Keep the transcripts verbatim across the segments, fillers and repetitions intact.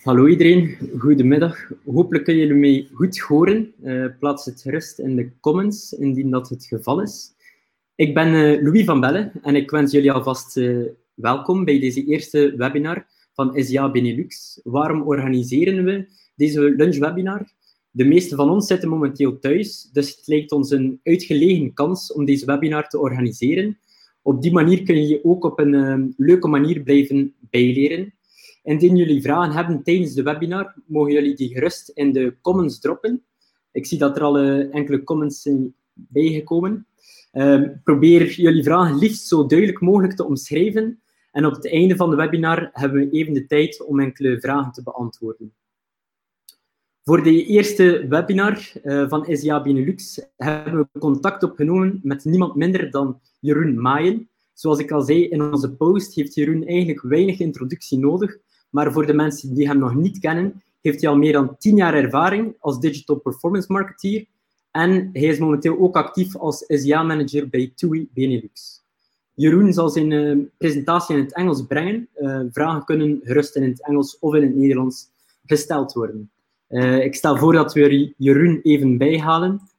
Hallo iedereen, goedemiddag. Hopelijk kunnen jullie mij goed horen. Uh, plaats het gerust in de comments, indien dat het geval is. Ik ben uh, Louis van Belle en ik wens jullie alvast uh, welkom bij deze eerste webinar van S I A Benelux. Waarom organiseren we deze lunchwebinar? De meeste van ons zitten momenteel thuis, dus het lijkt ons een uitgelegen kans om deze webinar te organiseren. Op die manier kun je je ook op een uh, leuke manier blijven bijleren. Indien jullie vragen hebben tijdens de webinar, mogen jullie die gerust in de comments droppen. Ik zie dat er al uh, enkele comments zijn bijgekomen. Uh, probeer jullie vragen liefst zo duidelijk mogelijk te omschrijven. En op het einde van de webinar hebben we even de tijd om enkele vragen te beantwoorden. Voor de eerste webinar uh, van S I A Benelux hebben we contact opgenomen met niemand minder dan Jeroen Maaien. Zoals ik al zei in onze post, heeft Jeroen eigenlijk weinig introductie nodig. Maar voor de mensen die hem nog niet kennen, heeft hij al meer dan tien jaar ervaring als digital performance marketeer. En hij is momenteel ook actief als S I A-manager bij TUI Benelux. Jeroen zal zijn uh, presentatie in het Engels brengen. Uh, vragen kunnen gerust in het Engels of in het Nederlands gesteld worden. Uh, ik stel voor dat we Jeroen even bijhalen.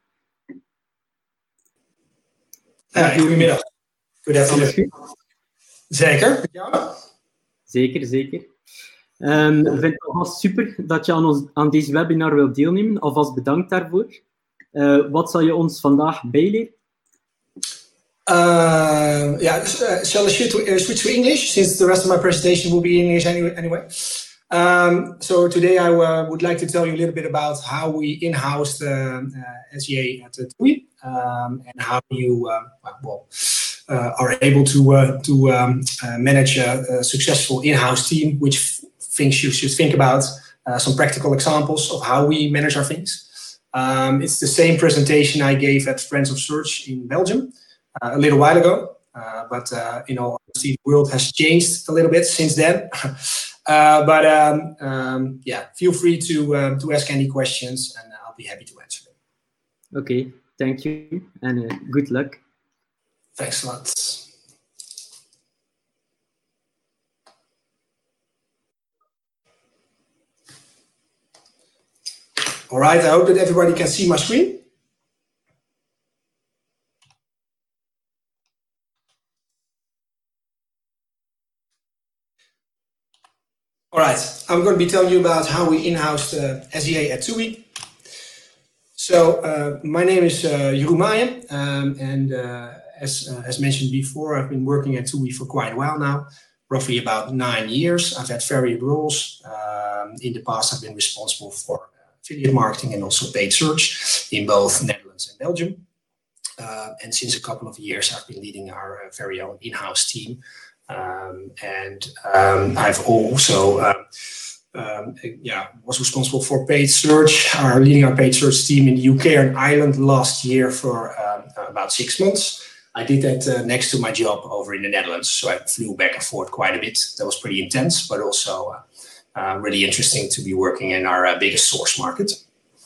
Uh, goedemiddag. Goedemiddag. Zeker. Ja. Zeker, zeker. Um, ik vind het alvast super dat je aan, ons, aan deze webinar wilt deelnemen. Alvast bedankt daarvoor. Uh, wat zal je ons vandaag bijleren? Uh, yeah, uh, shall I switch to, uh, switch to English, since the rest of my presentation will be in English anyway? anyway. Um, so today I uh, would like to tell you a little bit about how we in-housed uh, uh, S I A at TUI, um, and how you uh, well, uh, are able to, uh, to um, uh, manage a, a successful in-house team, which things you should think about, uh, some practical examples of how we manage our things. Um, it's the same presentation I gave at Friends of Search in Belgium uh, a little while ago, uh, but uh, in all honesty, the world has changed a little bit since then. uh, but um, um, yeah, feel free to uh, to ask any questions, and I'll be happy to answer them. Okay, thank you, and uh, good luck. Thanks a lot. All right, I hope that everybody can see my screen. All right, I'm going to be telling you about how we in-housed uh, S I A at TUI. So uh, my name is uh, Jeroen Maaien, um, and uh, as, uh, as mentioned before, I've been working at TUI for quite a while now, roughly about nine years. I've had varied roles. Um, in the past, I've been responsible for affiliate marketing and also paid search in both Netherlands and Belgium. Uh, and since a couple of years, I've been leading our uh, very own in-house team. Um, and um, I've also uh, um, yeah, was responsible for paid search, our leading our paid search team in the U K and Ireland last year for um, about six months. I did that uh, next to my job over in the Netherlands. So I flew back and forth quite a bit. That was pretty intense, but also uh, Uh, really interesting to be working in our uh, biggest source market.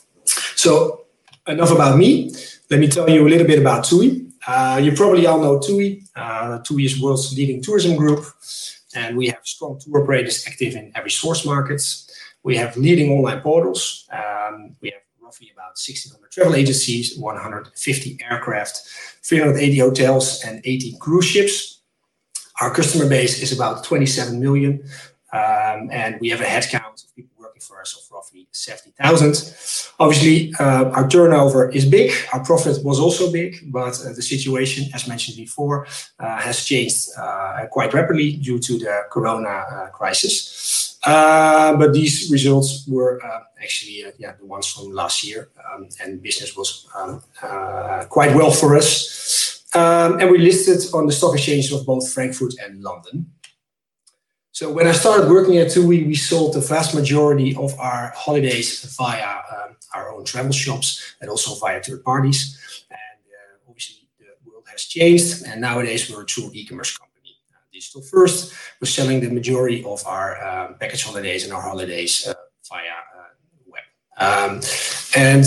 So enough about me. Let me tell you a little bit about TUI. Uh, you probably all know TUI. Uh, TUI is the world's leading tourism group, and we have strong tour operators active in every source market. We have leading online portals. Um, we have roughly about sixteen hundred travel agencies, one hundred fifty aircraft, three hundred eighty hotels, and eighteen cruise ships. Our customer base is about twenty-seven million. Um, and we have a headcount of people working for us of roughly seventy thousand. Obviously, uh, our turnover is big. Our profit was also big, but uh, the situation, as mentioned before, uh, has changed uh, quite rapidly due to the corona uh, crisis. Uh, but these results were uh, actually uh, yeah, the ones from last year, um, and business was um, uh, quite well for us. Um, and we listed on the stock exchanges of both Frankfurt and London. So when I started working at TUI, we sold the vast majority of our holidays via um, our own travel shops and also via third parties. And uh, obviously the world has changed, and nowadays we're a true e-commerce company. Uh, digital first, we're selling the majority of our uh, package holidays and our holidays uh, via uh, web. Um, and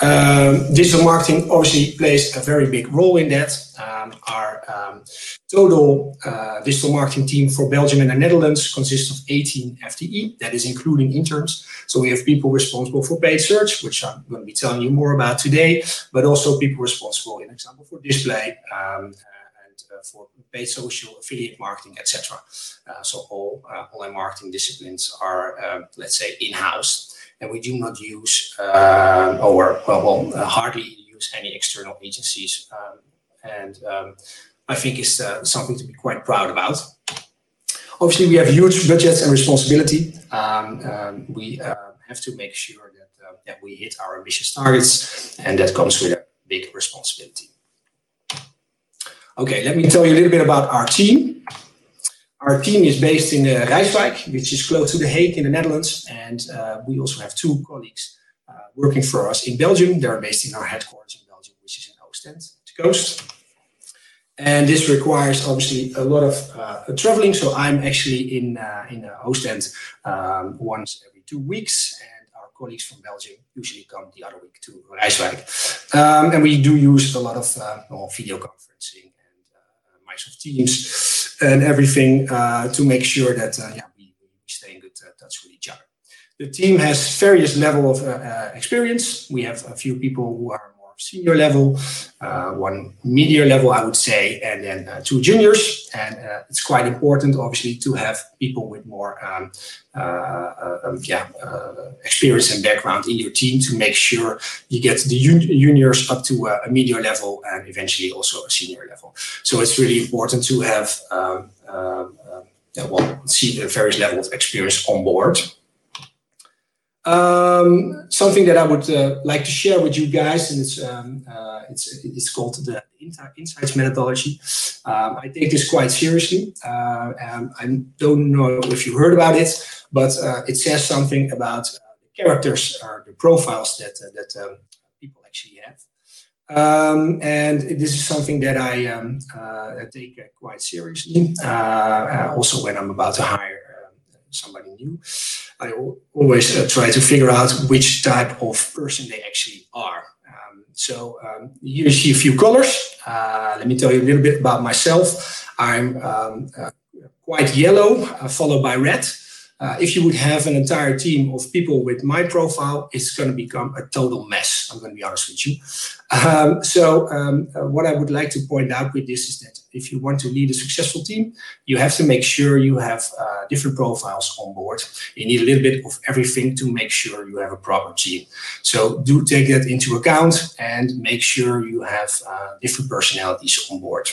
Um, digital marketing obviously plays a very big role in that. Um, our um, total uh, digital marketing team for Belgium and the Netherlands consists of eighteen F T E, that is including interns. So we have people responsible for paid search, which I'm going to be telling you more about today, but also people responsible, in example, for display, um, Uh, for paid social, affiliate marketing, et cetera. Uh, so all uh, online marketing disciplines are, uh, let's say, in-house, and we do not use uh, or well, well uh, hardly use any external agencies. Um, and um, I think it's uh, something to be quite proud about. Obviously, we have huge budgets and responsibility. Um, um, we uh, have to make sure that, uh, that we hit our ambitious targets, and that comes with a big responsibility. Okay, let me tell you a little bit about our team. Our team is based in uh, Rijswijk, which is close to The Hague in the Netherlands. And uh, we also have two colleagues uh, working for us in Belgium. They're based in our headquarters in Belgium, which is in Oostend, the coast. And this requires obviously a lot of uh, traveling. So I'm actually in, uh, in uh, Oostend um, once every two weeks. And our colleagues from Belgium usually come the other week to Rijswijk. Um, and we do use a lot of uh, well, video conferencing. Microsoft Teams and everything uh, to make sure that uh, yeah, we, we stay in good uh, touch with each other. The team has various level of uh, uh, experience. We have a few people who are more senior level, uh, one media level, I would say, and then uh, two juniors. And uh, it's quite important, obviously, to have people with more um, uh, uh, yeah, uh, experience and background in your team to make sure you get the juniors up to a, a media level and eventually also a senior level. So it's really important to have um, uh, uh, yeah, well, see the various levels of experience on board. Um, something that I would uh, like to share with you guys, and it's um, uh, it's it's called the Insights methodology. Um, I take this quite seriously. Uh, and I don't know if you heard about it, but uh, it says something about uh, the characters or the profiles that uh, that um, people actually have. Um, and this is something that I um, uh, take uh, quite seriously. Uh, also, when I'm about to hire uh, somebody new. I always uh, try to figure out which type of person they actually are. Um, so um, here you see a few colors. Uh, let me tell you a little bit about myself. I'm um, uh, quite yellow, uh, followed by red. Uh, if you would have an entire team of people with my profile, it's going to become a total mess. I'm going to be honest with you. Um, so um, uh, what I would like to point out with this is that if you want to lead a successful team, you have to make sure you have uh, different profiles on board. You need a little bit of everything to make sure you have a proper team. So do take that into account and make sure you have uh, different personalities on board.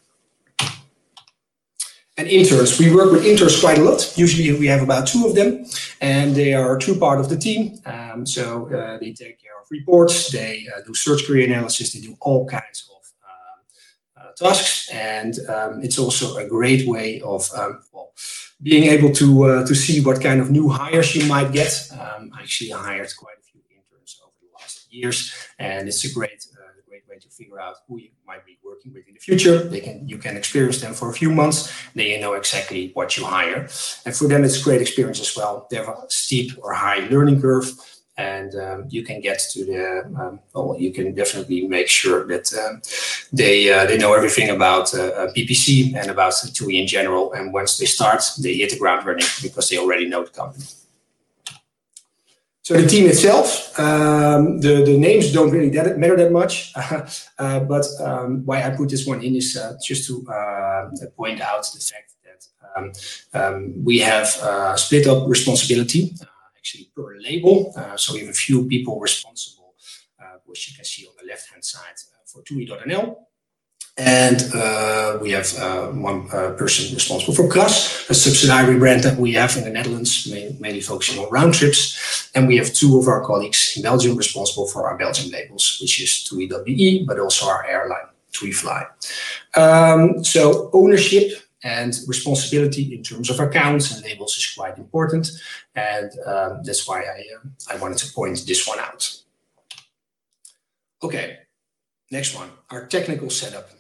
And interns, we work with interns quite a lot. Usually we have about two of them, and they are a true part of the team. Um, so uh, they take care of reports, they uh, do search query analysis, they do all kinds of uh, uh, tasks. And um, it's also a great way of um, well, being able to, uh, to see what kind of new hires you might get. Um, I actually hired quite a few interns over the last years, and it's a great uh, great way to figure out who you might be working with in the future. They can, you can experience them for a few months, then you know exactly what you hire. And for them, it's a great experience as well. They have a steep or high learning curve, and um, you can get to the, um, well, you can definitely make sure that um, they uh, they know everything about uh, P P C and about T U I in general. And once they start, they hit the ground running because they already know the company. So the team itself, um, the, the names don't really that, matter that much, uh, but um, why I put this one in is uh, just to uh, point out the fact that um, um, we have uh, split up responsibility, uh, actually per label. Uh, so we have a few people responsible, uh, which you can see on the left-hand side uh, for T U I dot N L. And uh, we have uh, one uh, person responsible for Kras, a subsidiary brand that we have in the Netherlands, mainly focusing on round trips. And we have two of our colleagues in Belgium responsible for our Belgian labels, which is T U I dot B E, but also our airline, T U I Fly. Um, so ownership and responsibility in terms of accounts and labels is quite important. And um, that's why I, uh, I wanted to point this one out. Okay, next one, our technical setup.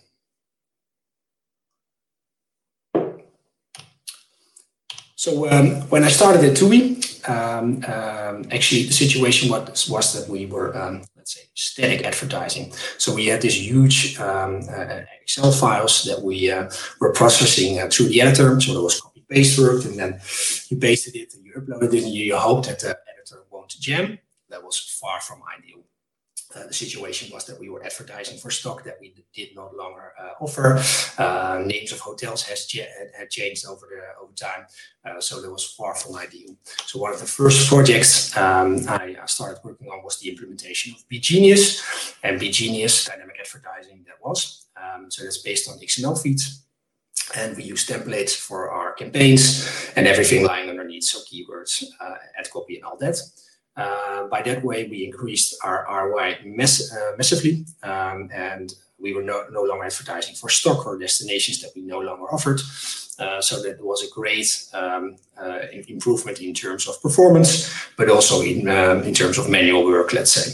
So um, when I started at T U I, um, um, actually the situation was, was that we were, um, let's let's say, static advertising. So we had this huge um, uh, Excel files that we uh, were processing uh, through the editor. So there was copy paste work, and then you pasted it and you uploaded it, and you hope that the editor won't jam. That was far from ideal. Uh, the situation was that we were advertising for stock that we did not longer uh, offer. Uh, names of hotels has had changed over the over time, uh, so that was far from ideal. So one of the first projects um, I started working on was the implementation of BGenius, and BGenius dynamic advertising that was. Um, so that's based on X M L feeds, and we use templates for our campaigns and everything lying underneath, so keywords, uh, ad copy, and all that. Uh, by that way, we increased our R O I mass uh, massively, um, and we were no, no longer advertising for stock or destinations that we no longer offered. Uh, so that was a great um, uh, improvement in terms of performance, but also in, um, in terms of manual work, let's say.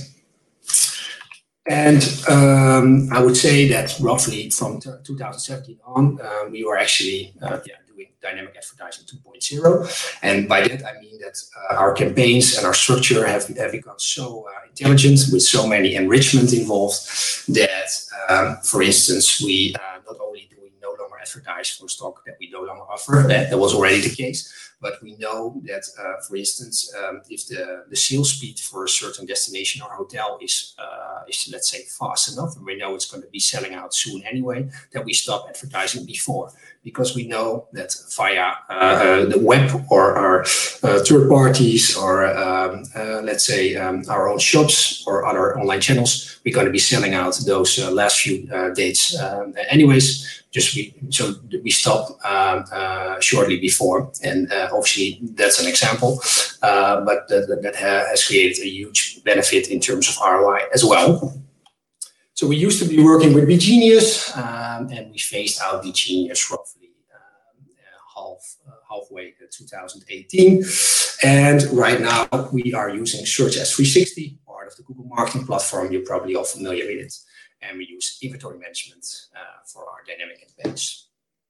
And um, I would say that roughly from two thousand seventeen on, uh, we were actually uh, yeah, doing dynamic advertising two point oh. And by that, I mean that uh, our campaigns and our structure have, have become so uh, intelligent with so many enrichment involved that, um, for instance, we uh, not only do we no longer advertise for stock that we no longer offer, that, that was already the case, but we know that, uh, for instance, um, if the, the sales speed for a certain destination or hotel is, uh, is, let's say, fast enough, and we know it's going to be selling out soon anyway, that we stop advertising before. Because we know that via uh, the web or our uh, third parties or, um, uh, let's say, um, our own shops or other online channels, we're going to be selling out those uh, last few uh, dates um, anyways. Just we, so we stop um, uh, shortly before, and uh, obviously that's an example, uh, but that, that has created a huge benefit in terms of R O I as well. So we used to be working with BGenius, um, and we phased out BGenius roughly um, uh, half uh, halfway in two thousand eighteen. And right now we are using Search S three sixty, part of the Google Marketing Platform. You're probably all familiar with it. And we use inventory management uh, for our dynamic campaigns.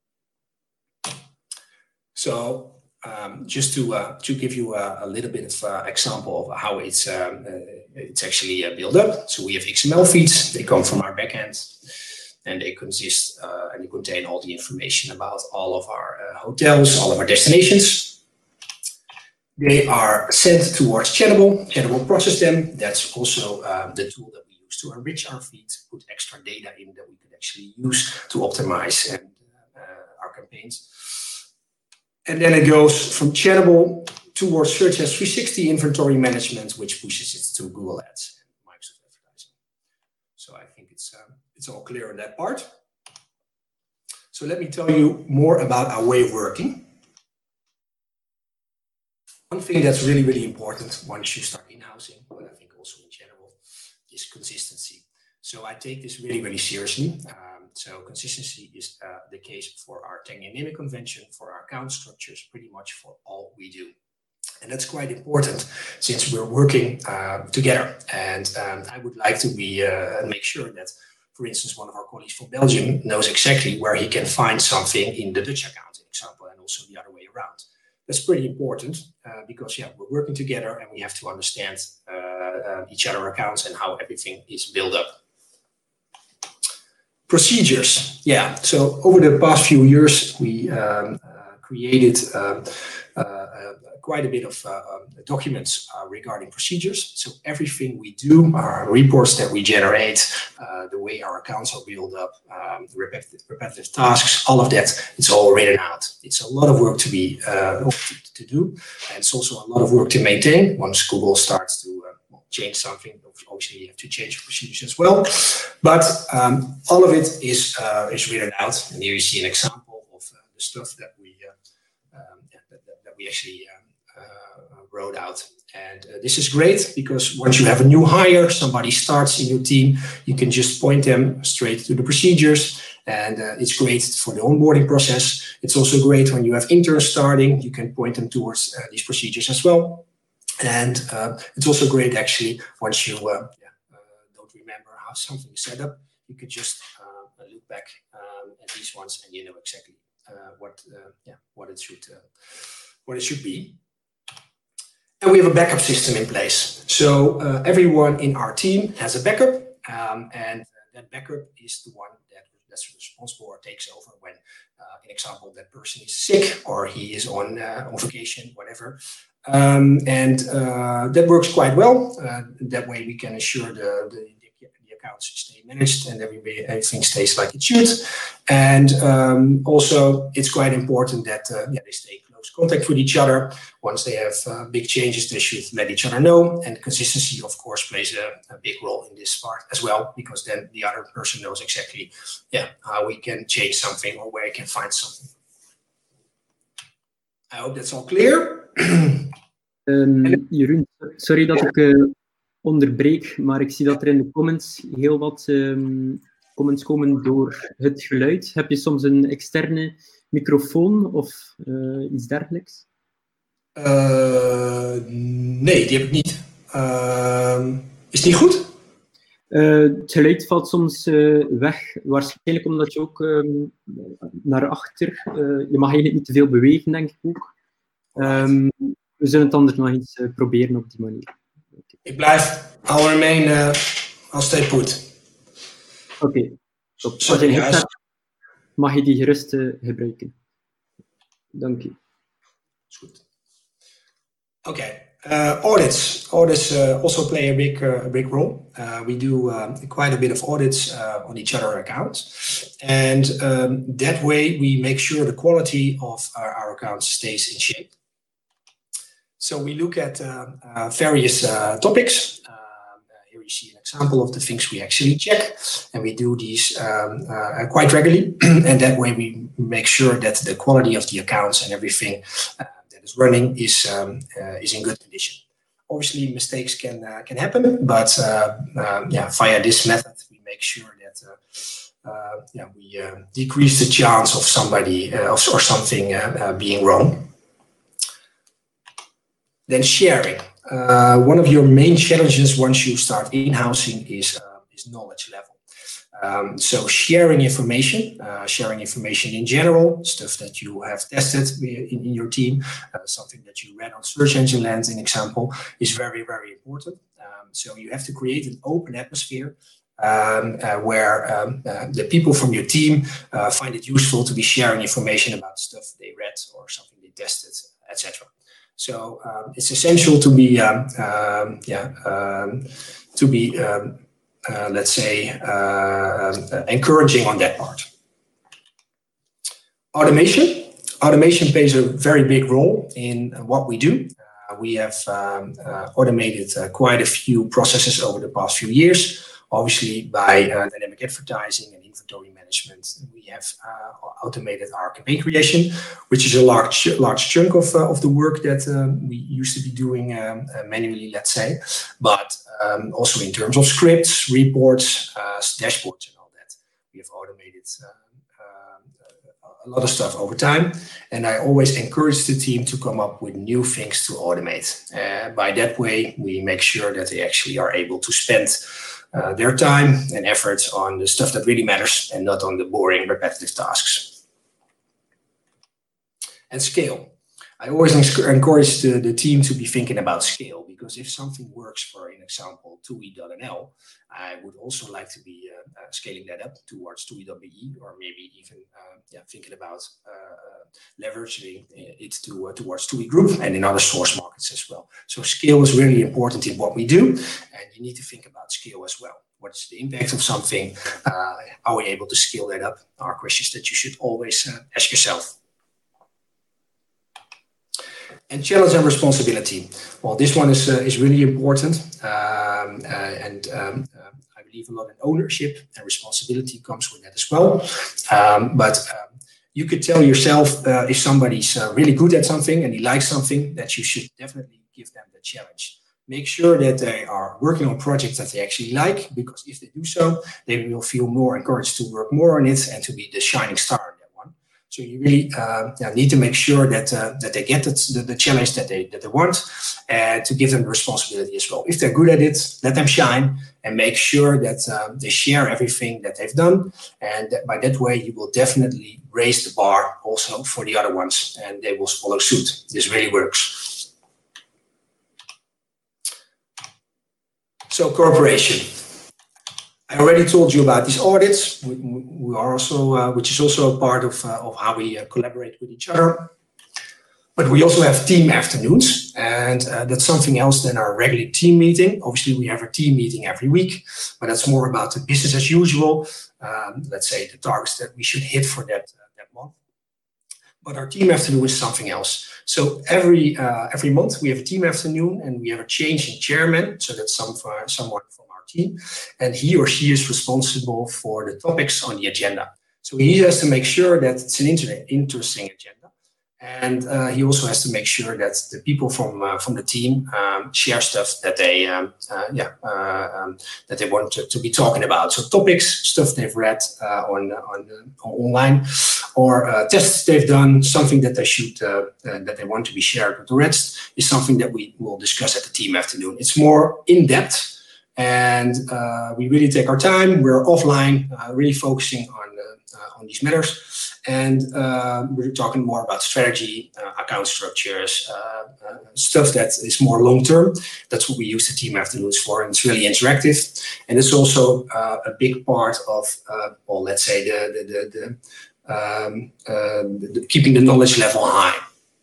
So um, just to uh, to give you a, a little bit of uh, example of how it's um, uh, it's actually uh, built up. So we have X M L feeds. They come from our backend, and they consist uh, and they contain all the information about all of our uh, hotels, all of our destinations. They are sent towards Channable. Channable process them. That's also uh, the tool that we use to enrich our feeds, put extra data in that we could actually use to optimize and, uh, our campaigns. And then it goes from Channable towards Search S three sixty inventory management, which pushes it to Google Ads and Microsoft Advertising. So I think it's um, it's all clear on that part. So let me tell you more about our way of working. One thing that's really, really important once you start in-housing, but I think also in general, is consistency. So I take this really, really seriously. Um, so consistency is uh, the case for our ten-year naming convention, for our account structures, pretty much for all we do. And that's quite important since we're working uh, together. And um, I would like to be uh, make sure that, for instance, one of our colleagues from Belgium knows exactly where he can find something in the Dutch account, for example, and also the other way around. That's pretty important uh, because, yeah, we're working together and we have to understand uh, uh, each other's accounts and how everything is built up. Procedures. Yeah, so over the past few years, we um, uh, created um, uh, uh, quite a bit of uh, um, documents uh, regarding procedures. So everything we do, our reports that we generate, uh, the way our accounts are built up, um, repetitive, repetitive tasks, all of that, it's all written out. It's a lot of work to be uh, to, to do, and it's also a lot of work to maintain. Once Google starts to uh, change something, obviously you have to change procedures as well. But um, all of it is uh, is written out, and here you see an example of uh, the stuff that we uh, um, that, that we actually um, uh, wrote out. And uh, this is great because once you have a new hire, somebody starts in your team, you can just point them straight to the procedures, and uh, it's great for the onboarding process. It's also great when you have interns starting, you can point them towards uh, these procedures as well. And uh, it's also great actually once you uh, yeah, uh, don't remember how something is set up, you could just uh, look back um, at these ones and you know exactly uh, what uh, yeah what it should uh, what it should be. And we have a backup system in place. So uh, everyone in our team has a backup, um, and that backup is the one that, that's responsible or takes over when, uh, in example, that person is sick or he is on, uh, on vacation, whatever. Um, and uh, that works quite well. Uh, that way we can ensure the, the, the accounts stay managed and everybody, everything stays like it should. And um, also it's quite important that uh, yeah, they stay in close contact with each other. Once they have uh, big changes, they should let each other know. And consistency, of course, plays a, a big role in this part as well, because then the other person knows exactly yeah, how we can change something or where he can find something. I hope that's all clear. Um, Jeroen, sorry dat ik uh, onderbreek, maar ik zie dat er in de comments heel wat um, comments komen door het geluid. Heb je soms een externe microfoon of uh, iets dergelijks? Uh, nee, die heb ik niet. Uh, is die goed? Uh, het geluid valt soms uh, weg, waarschijnlijk omdat je ook um, naar achter, uh, je mag eigenlijk niet te veel bewegen, denk ik ook. Um, we zullen het anders nog eens uh, proberen op die manier. Okay. Ik blijf, I'll remain, uh, I'll stay put. Oké, okay. Als je een hebt, mag je die gerust uh, gebruiken. Dank je. Is goed. Oké. Okay. Uh, audits. Audits uh, also play a big, uh, a big role. Uh, we do uh, quite a bit of audits uh, on each other accounts. And um, that way we make sure the quality of our, our accounts stays in shape. So we look at uh, uh, various uh, topics. Uh, here you see an example of the things we actually check. And we do these um, uh, quite regularly. And that way we make sure that the quality of the accounts and everything uh, is running is um, uh, is in good condition. Obviously, mistakes can uh, can happen, but uh, uh, yeah, via this method, we make sure that uh, uh, yeah we uh, decrease the chance of somebody uh, of, or something uh, uh, being wrong. Then sharing. Uh, one of your main challenges once you start in-housing is uh, is knowledge level. Um, so sharing information, uh, sharing information in general, stuff that you have tested in, in your team, uh, something that you read on Search Engine Land, an example, is very, very important. Um, so you have to create an open atmosphere um, uh, where um, uh, the people from your team uh, find it useful to be sharing information about stuff they read or something they tested, et cetera. So um, it's essential to be, um, um, yeah, um, to be. Um, Uh, let's say, uh, uh, encouraging on that part. Automation. Automation plays a very big role in what we do. Uh, we have um, uh, automated uh, quite a few processes over the past few years. Obviously, by uh, dynamic advertising and inventory management, we have uh, automated our campaign creation, which is a large, large chunk of, uh, of the work that um, we used to be doing um, uh, manually, let's say. But um, also in terms of scripts, reports, uh, dashboards, and all that, we have automated uh, uh, a lot of stuff over time. And I always encourage the team to come up with new things to automate. Uh, by that way, we make sure that they actually are able to spend Uh, their time and efforts on the stuff that really matters and not on the boring, repetitive tasks. And scale. I always encourage the, the team to be thinking about scale, because if something works for, an example, two E dot N L, I would also like to be uh, uh, scaling that up towards two E dot B E, or maybe even uh, yeah, thinking about uh, leveraging it to, uh, towards two E Group and in other source markets as well. So scale is really important in what we do, and you need to think about scale as well. What's the impact of something? Uh, are we able to scale that up? Are questions that you should always uh, ask yourself. And challenge and responsibility. Well, this one is uh, is really important, um, uh, and um, uh, I believe a lot in ownership and responsibility comes with that as well. Um, but um, you could tell yourself uh, if somebody's uh, really good at something and he likes something, that you should definitely give them the challenge. Make sure that they are working on projects that they actually like, because if they do so, they will feel more encouraged to work more on it and to be the shining star. So you really uh, yeah, need to make sure that uh, that they get the, the challenge that they that they want, and to give them the responsibility as well. If they're good at it, let them shine, and make sure that uh, they share everything that they've done. And that by that way, you will definitely raise the bar also for the other ones, and they will follow suit. This really works. So cooperation. I already told you about these audits. We, we are also, uh, which is also a part of, uh, of how we uh, collaborate with each other. But we also have team afternoons, and uh, that's something else than our regular team meeting. Obviously, we have a team meeting every week, but that's more about the business as usual. Um, let's say the targets that we should hit for that uh, that month. But our team afternoon is something else. So every uh, every month we have a team afternoon, and we have a change in chairman. So that's some for someone from our team, and he or she is responsible for the topics on the agenda. So he has to make sure that it's an inter interesting agenda. And uh, he also has to make sure that the people from uh, from the team um, share stuff that they um, uh, yeah uh, um, that they want to, to be talking about. So topics, stuff they've read uh, on on, uh, online, or uh, tests they've done, something that they should uh, uh, that they want to be shared with the rest is something that we will discuss at the team afternoon. It's more in depth, and uh, we really take our time. We're offline, uh, really focusing on uh, uh, on these matters. And uh, we're talking more about strategy, uh, account structures, uh, uh, stuff that is more long-term. That's what we use the team afternoons for, and it's really interactive. And it's also uh, a big part of, uh, well, let's say, the, the, the, the, um, uh, the, the keeping the knowledge level high.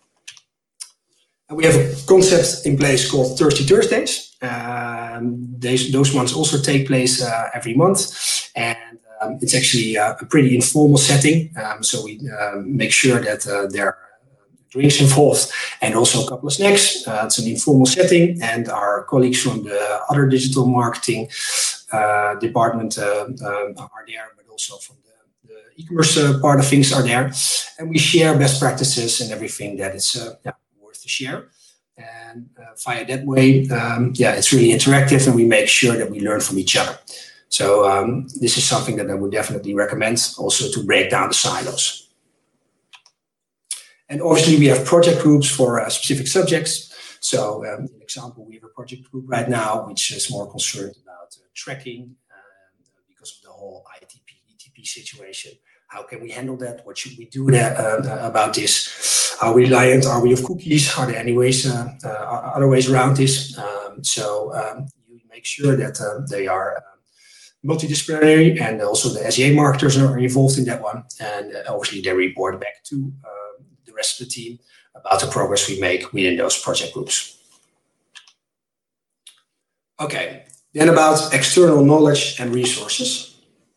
And we have a concept in place called Thirsty Thursdays. Um, those, those ones also take place uh, every month. And Um, it's actually uh, a pretty informal setting, um, so we uh, make sure that uh, there are drinks involved and also a couple of snacks. Uh, it's an informal setting, and our colleagues from the other digital marketing uh, department uh, uh, are there, but also from the, the e-commerce uh, part of things are there. And we share best practices and everything that is uh, yeah, worth to share. And uh, via that way, um, yeah, it's really interactive, and we make sure that we learn from each other. So um, this is something that I would definitely recommend, also to break down the silos. And obviously we have project groups for uh, specific subjects. So um, an example, we have a project group right now, which is more concerned about uh, tracking uh, because of the whole I T P, E T P situation. How can we handle that? What should we do that, uh, about this? Are we reliant? Are we of cookies? Are there any ways, uh, uh, other ways around this? Um, so um, you make sure that uh, they are uh, multidisciplinary, and also the S E A marketers are involved in that one. And uh, obviously they report back to uh, the rest of the team about the progress we make within those project groups. Okay, then about external knowledge and resources.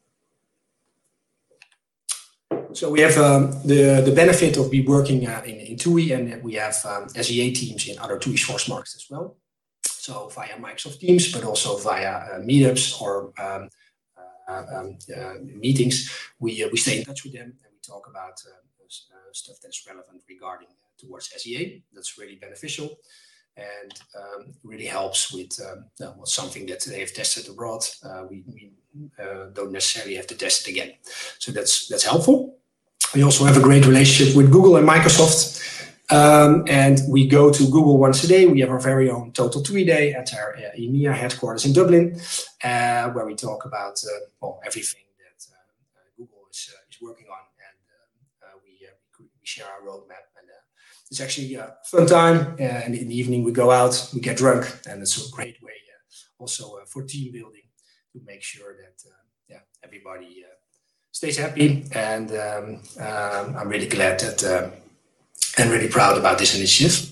So we have um, the, the benefit of be working uh, in, in T U I, and we have um, S E A teams in other T U I source markets as well. So via Microsoft Teams, but also via uh, meetups or um, uh, um, uh, meetings, we uh, we stay in touch with them, and we talk about uh, uh, stuff that's relevant regarding uh, towards S E A. That's really beneficial, and um, really helps with um, uh, something that they have tested abroad. Uh, we we uh, don't necessarily have to test it again, so that's that's helpful. We also have a great relationship with Google and Microsoft. Um, and we go to Google once a day. We have our very own Total T U I Day at our uh, EMEA headquarters in Dublin, uh, where we talk about uh, well, everything that uh, uh, Google is, uh, is working on, and uh, uh, we, uh, we share our roadmap. And uh, it's actually a fun time. Uh, and in the evening we go out, we get drunk, and it's a great way uh, also uh, for team building to make sure that uh, yeah, everybody uh, stays happy. And um, um, I'm really glad that. Uh, And really proud about this initiative.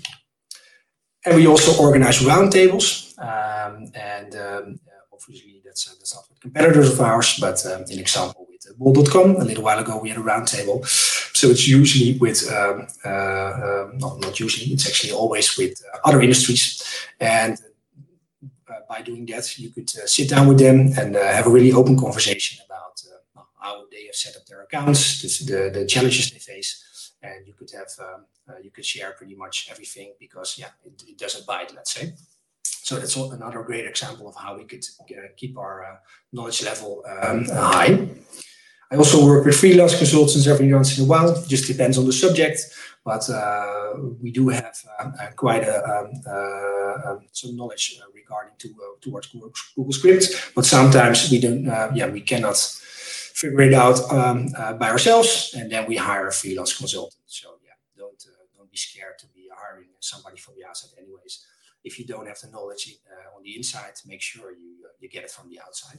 And we also organize roundtables, um, and um, obviously that's uh, that's not with competitors of ours, but um, an example with uh, bol dot com. A little while ago we had a roundtable, so it's usually with um, uh, uh, not not usually, it's actually always with uh, other industries, and uh, by doing that you could uh, sit down with them and uh, have a really open conversation about uh, how they have set up their accounts, the the challenges they face. And you could have, um, uh, you could share pretty much everything, because yeah, it, it doesn't bite, let's say. So that's another great example of how we could uh, keep our uh, knowledge level um, high. I also work with freelance consultants every once in a while. It just depends on the subject, but uh, we do have uh, uh, quite a, um, uh, um, some knowledge uh, regarding to uh, towards Google, Google Script. But sometimes we don't, uh, yeah, we cannot figure it out um, uh, by ourselves, and then we hire a freelance consultant. So yeah, don't uh, don't be scared to be hiring somebody from the outside. Anyways, if you don't have the knowledge uh, on the inside, make sure you you get it from the outside.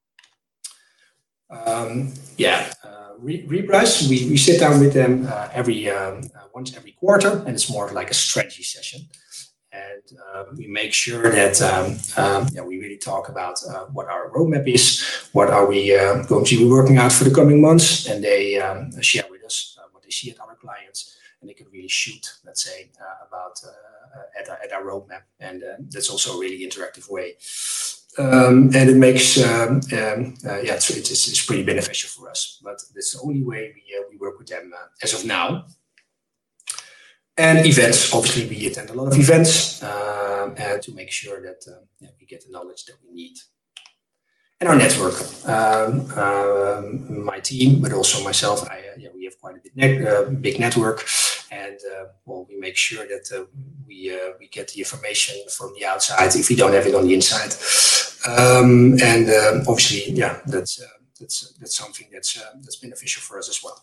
Um, yeah, uh, Rebrush, we, we sit down with them uh, every um, uh, once every quarter, and it's more of like a strategy session. And uh, we make sure that um, um, yeah, we really talk about uh, what our roadmap is, what are we uh, going to be working out for the coming months, and they um, share with us uh, what they see at other clients, and they can really shoot, let's say, uh, about uh, at, our, at our roadmap, and uh, that's also a really interactive way. Um, and it makes, um, um, uh, yeah, it's, it's, it's pretty beneficial for us, but that's the only way we, uh, we work with them uh, as of now. And events, obviously we attend a lot of events um, and to make sure that uh, yeah, we get the knowledge that we need. And our network, um, um, my team, but also myself, I, uh, yeah, we have quite a big, net, uh, big network, and uh, well, we make sure that uh, we uh, we get the information from the outside if we don't have it on the inside. Um, and um, obviously, yeah, that's uh, that's that's something that's uh, that's beneficial for us as well.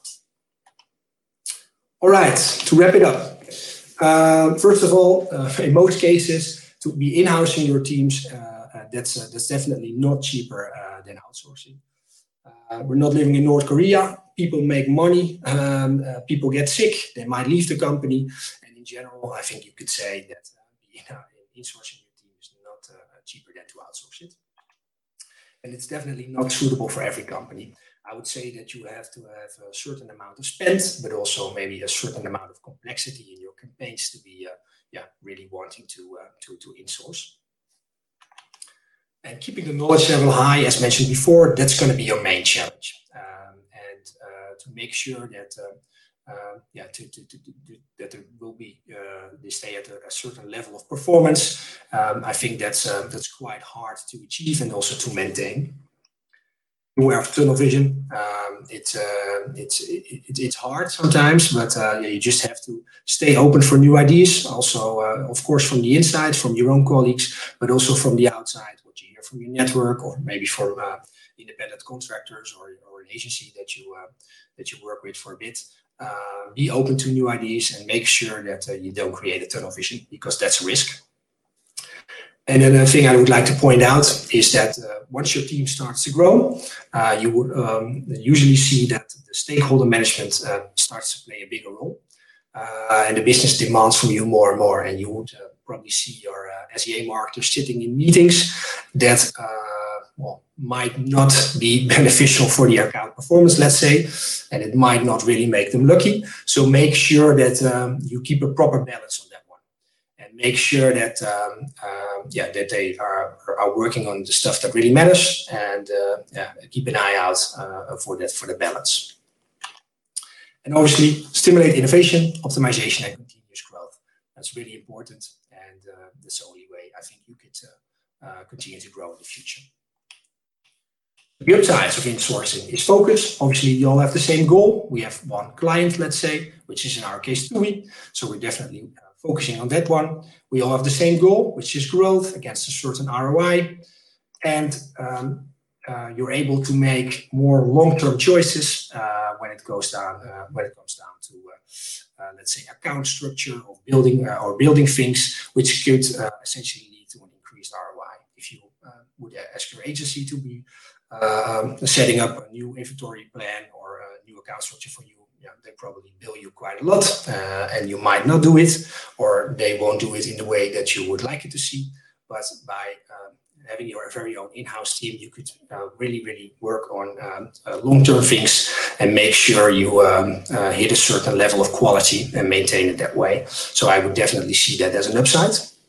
All right, to wrap it up. Uh, first of all, uh, in most cases, to be in-housing your teams, uh, uh, that's uh, that's definitely not cheaper uh, than outsourcing. Uh, we're not living in North Korea. People make money. Um, uh, people get sick. They might leave the company. And in general, I think you could say that uh, you know, insourcing your team is not uh, cheaper than to outsource it. And it's definitely not suitable for every company. I would say that you have to have a certain amount of spend, but also maybe a certain amount of complexity in your campaigns to be, uh, yeah, really wanting to uh, to to insource. And keeping the knowledge level high, as mentioned before, that's going to be your main challenge. Um, and uh, to make sure that, uh, uh, yeah, to, to, to, to, that there will be, uh, they stay at a, a certain level of performance. Um, I think that's uh, that's quite hard to achieve and also to maintain. Beware of tunnel vision. Um, it's uh, it's it, it's hard sometimes, but uh, yeah, you just have to stay open for new ideas. Also, uh, of course, from the inside, from your own colleagues, but also from the outside, what you hear from your network, or maybe from uh, independent contractors or, or an agency that you uh, that you work with for a bit. Uh, be open to new ideas and make sure that uh, you don't create a tunnel vision, because that's a risk. And another thing I would like to point out is that uh, once your team starts to grow, uh, you would um, usually see that the stakeholder management uh, starts to play a bigger role. Uh, and the business demands from you more and more. And you would uh, probably see your uh, S E A marketers sitting in meetings that uh, well, might not be beneficial for the account performance, let's say, and it might not really make them lucky. So make sure that um, you keep a proper balance on that. Make sure that um, uh, yeah that they are are working on the stuff that really matters, and uh, yeah, keep an eye out uh, for that for the balance. And obviously, stimulate innovation, optimization, and continuous growth. That's really important, and uh, that's the only way I think you could uh, uh, continue to grow in the future. The upsides of insourcing is focus. Obviously, you all have the same goal. We have one client, let's say, which is in our case TUI. So we're definitely uh, focusing on that one. We all have the same goal, which is growth against a certain R O I. And um, uh, you're able to make more long-term choices uh, when it goes down, uh, when it comes down to, uh, uh, let's say, account structure or building uh, or building things, which could uh, essentially lead to an increased R O I. If you uh, would ask your agency to be uh, setting up a new inventory plan or a new account structure for you, yeah, they probably bill you quite a lot, uh, and you might not do it, or they won't do it in the way that you would like it to see. But by um, having your very own in-house team, you could uh, really, really work on um, uh, long-term things and make sure you um, uh, hit a certain level of quality and maintain it that way. So I would definitely see that as an upside.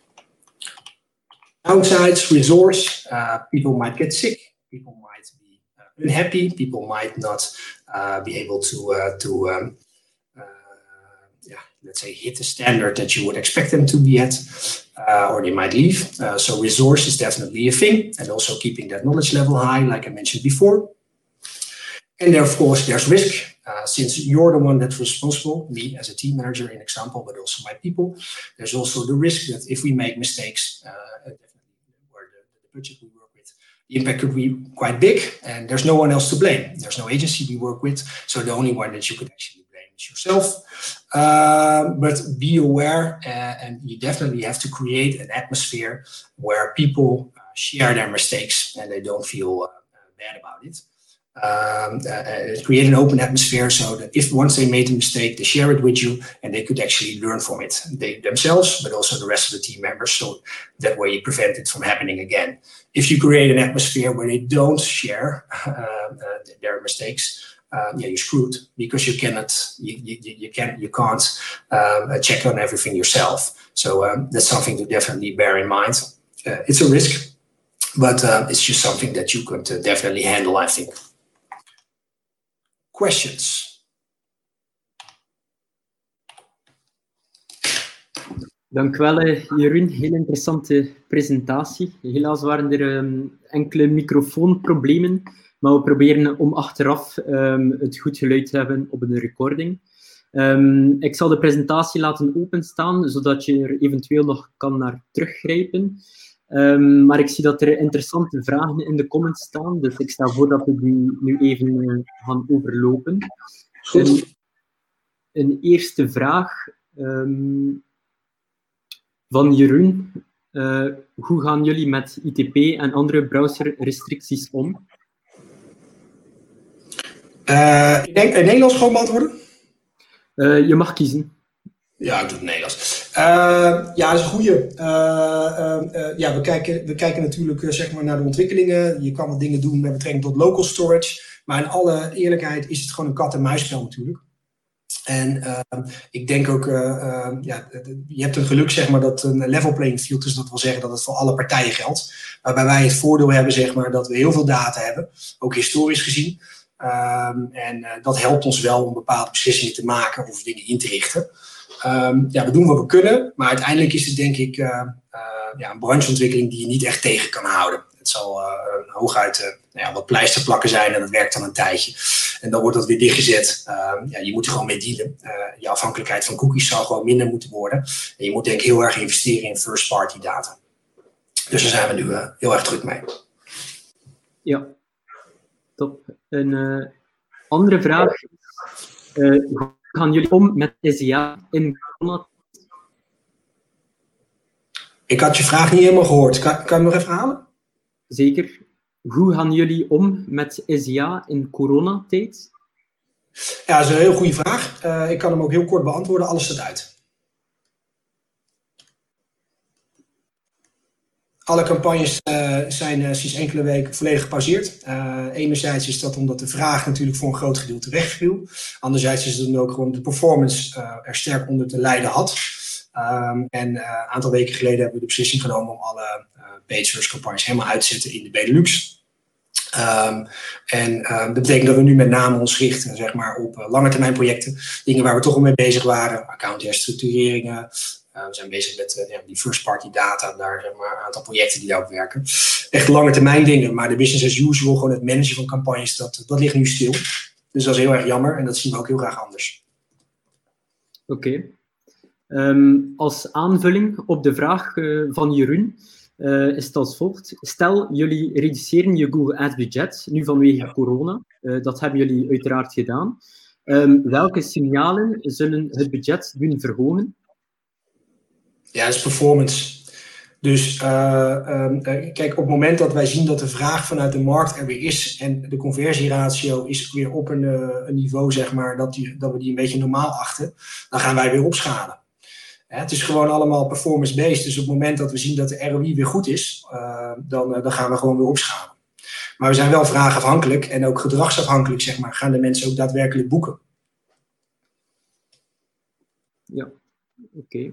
Downsides, resource, uh, people might get sick, people might be uh, unhappy, people might not uh, be able to, uh, to um, uh, yeah, let's say, hit the standard that you would expect them to be at, uh, or they might leave. Uh, so resource is definitely a thing, and also keeping that knowledge level high, like I mentioned before. And there, of course, there's risk. Uh, since you're the one that's responsible, me as a team manager, in example, but also my people, there's also the risk that if we make mistakes, uh, definitely where the, the budget we work with, the impact could be quite big, and there's no one else to blame. There's no agency we work with, so the only one that you could actually blame manage yourself. Uh, but be aware, uh, and you definitely have to create an atmosphere where people uh, share their mistakes and they don't feel uh, bad about it. Um, uh, create an open atmosphere so that if once they made a mistake, they share it with you and they could actually learn from it, they themselves, but also the rest of the team members. So that way you prevent it from happening again. If you create an atmosphere where they don't share uh, uh, their mistakes, uh, yeah, you're screwed because you cannot, you, you, you can't, you can't um, check on everything yourself. So um, that's something to definitely bear in mind. Uh, it's a risk, but uh, it's just something that you could uh, definitely handle, I think. Questions? Dank u wel, Jeroen. Heel interessante presentatie. Helaas waren er um, enkele microfoonproblemen, maar we proberen om achteraf um, het goed geluid te hebben op een recording. Um, ik zal de presentatie laten openstaan, zodat je er eventueel nog kan naar teruggrijpen. Um, maar ik zie dat er interessante vragen in de comments staan, dus ik stel voor dat we die nu even uh, gaan overlopen. Een, een eerste vraag um, van Jeroen. Uh, hoe gaan jullie met I T P en andere browserrestricties om? Uh, ik denk in Nederlands gewoon beantwoorden? Uh, je mag kiezen. Ja, ik doe het Nederlands. Uh, ja, dat is een goeie. Uh, uh, uh, ja, we kijken, we kijken natuurlijk uh, zeg maar naar de ontwikkelingen. Je kan wat dingen doen met betrekking tot local storage. Maar in alle eerlijkheid is het gewoon een kat-en-muisspel natuurlijk. En uh, ik denk ook, uh, uh, ja, je hebt een geluk zeg maar dat een level playing field is. Dat wil zeggen dat het voor alle partijen geldt. Waarbij wij het voordeel hebben zeg maar dat we heel veel data hebben. Ook historisch gezien. Um, en uh, dat helpt ons wel om bepaalde beslissingen te maken of dingen in te richten. Um, ja, we doen wat we kunnen, maar uiteindelijk is het denk ik uh, uh, ja, een brancheontwikkeling die je niet echt tegen kan houden. Het zal uh, hooguit uh, nou ja, wat pleisterplakken zijn en dat werkt dan een tijdje. En dan wordt dat weer dichtgezet. Uh, ja, je moet er gewoon mee dealen. Uh, je afhankelijkheid van cookies zal gewoon minder moeten worden. En je moet denk ik heel erg investeren in first party data. Dus daar zijn we nu uh, heel erg druk mee. Ja, top. Een uh, andere vraag is, uh, hoe gaan jullie om met S I A in corona? Ik had je vraag niet helemaal gehoord. Kan, kan je hem nog even halen? Zeker. Hoe gaan jullie om met S I A in coronatijd? Ja, dat is een heel goede vraag. Uh, ik kan hem ook heel kort beantwoorden. Alles staat uit. Alle campagnes uh, zijn uh, sinds enkele weken volledig gepauzeerd. Uh, enerzijds is dat omdat de vraag natuurlijk voor een groot gedeelte wegviel. Anderzijds is het dan ook gewoon de performance uh, er sterk onder te lijden had. Um, en uh, een aantal weken geleden hebben we de beslissing genomen om alle uh, paid search campagnes helemaal uit te zetten in de Benelux. Um, en uh, dat betekent dat we nu met name ons richten zeg maar, op uh, lange termijn projecten. Dingen waar we toch al mee bezig waren. Account herstructureringen. Uh, we zijn bezig met uh, ja, die first party data. Daar zeg maar, een aantal projecten die daarop werken. Echt lange termijn dingen. Maar de business as usual, gewoon het managen van campagnes, dat, dat ligt nu stil. Dus dat is heel erg jammer. En dat zien we ook heel graag anders. Oké. Okay. Um, als aanvulling op de vraag uh, van Jeroen. Uh, is het als volgt. Stel, jullie reduceren je Google Ads budget, nu vanwege ja. corona. Uh, dat hebben jullie uiteraard gedaan. Um, welke signalen zullen het budget doen verhogen? Ja, dat is performance. Dus uh, um, kijk, op het moment dat wij zien dat de vraag vanuit de markt er weer is en de conversieratio is weer op een, uh, een niveau, zeg maar, dat, die, dat we die een beetje normaal achten, dan gaan wij weer opschalen. Ja, het is gewoon allemaal performance-based. Dus op het moment dat we zien dat de R O I weer goed is, uh, dan, uh, dan gaan we gewoon weer opschalen. Maar we zijn wel vraagafhankelijk en ook gedragsafhankelijk, zeg maar. Gaan de mensen ook daadwerkelijk boeken? Ja, oké. Okay.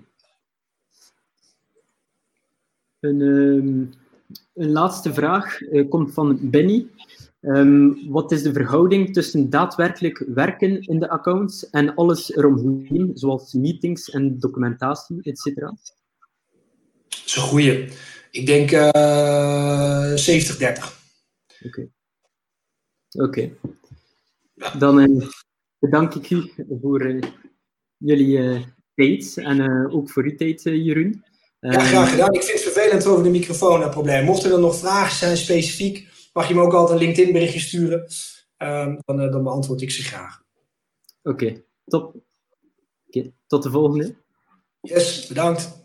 Een, um, een laatste vraag uh, komt van Benny. Um, wat is de verhouding tussen daadwerkelijk werken in de accounts en alles eromheen, zoals meetings en documentatie, et cetera? Dat is een goeie. Ik denk uh, zeventig dertig. Oké. Okay. Oké. Okay. Ja. Dan uh, bedank ik u voor uh, jullie uh, tijd en uh, ook voor uw tijd, uh, Jeroen. Ja, graag gedaan. Ik vind het vervelend over de microfoonprobleem. Mochten er nog vragen zijn specifiek, mag je me ook altijd een LinkedIn berichtje sturen. Um, dan, uh, dan beantwoord ik ze graag. Oké, okay. Top. Okay, tot de volgende. Yes, bedankt.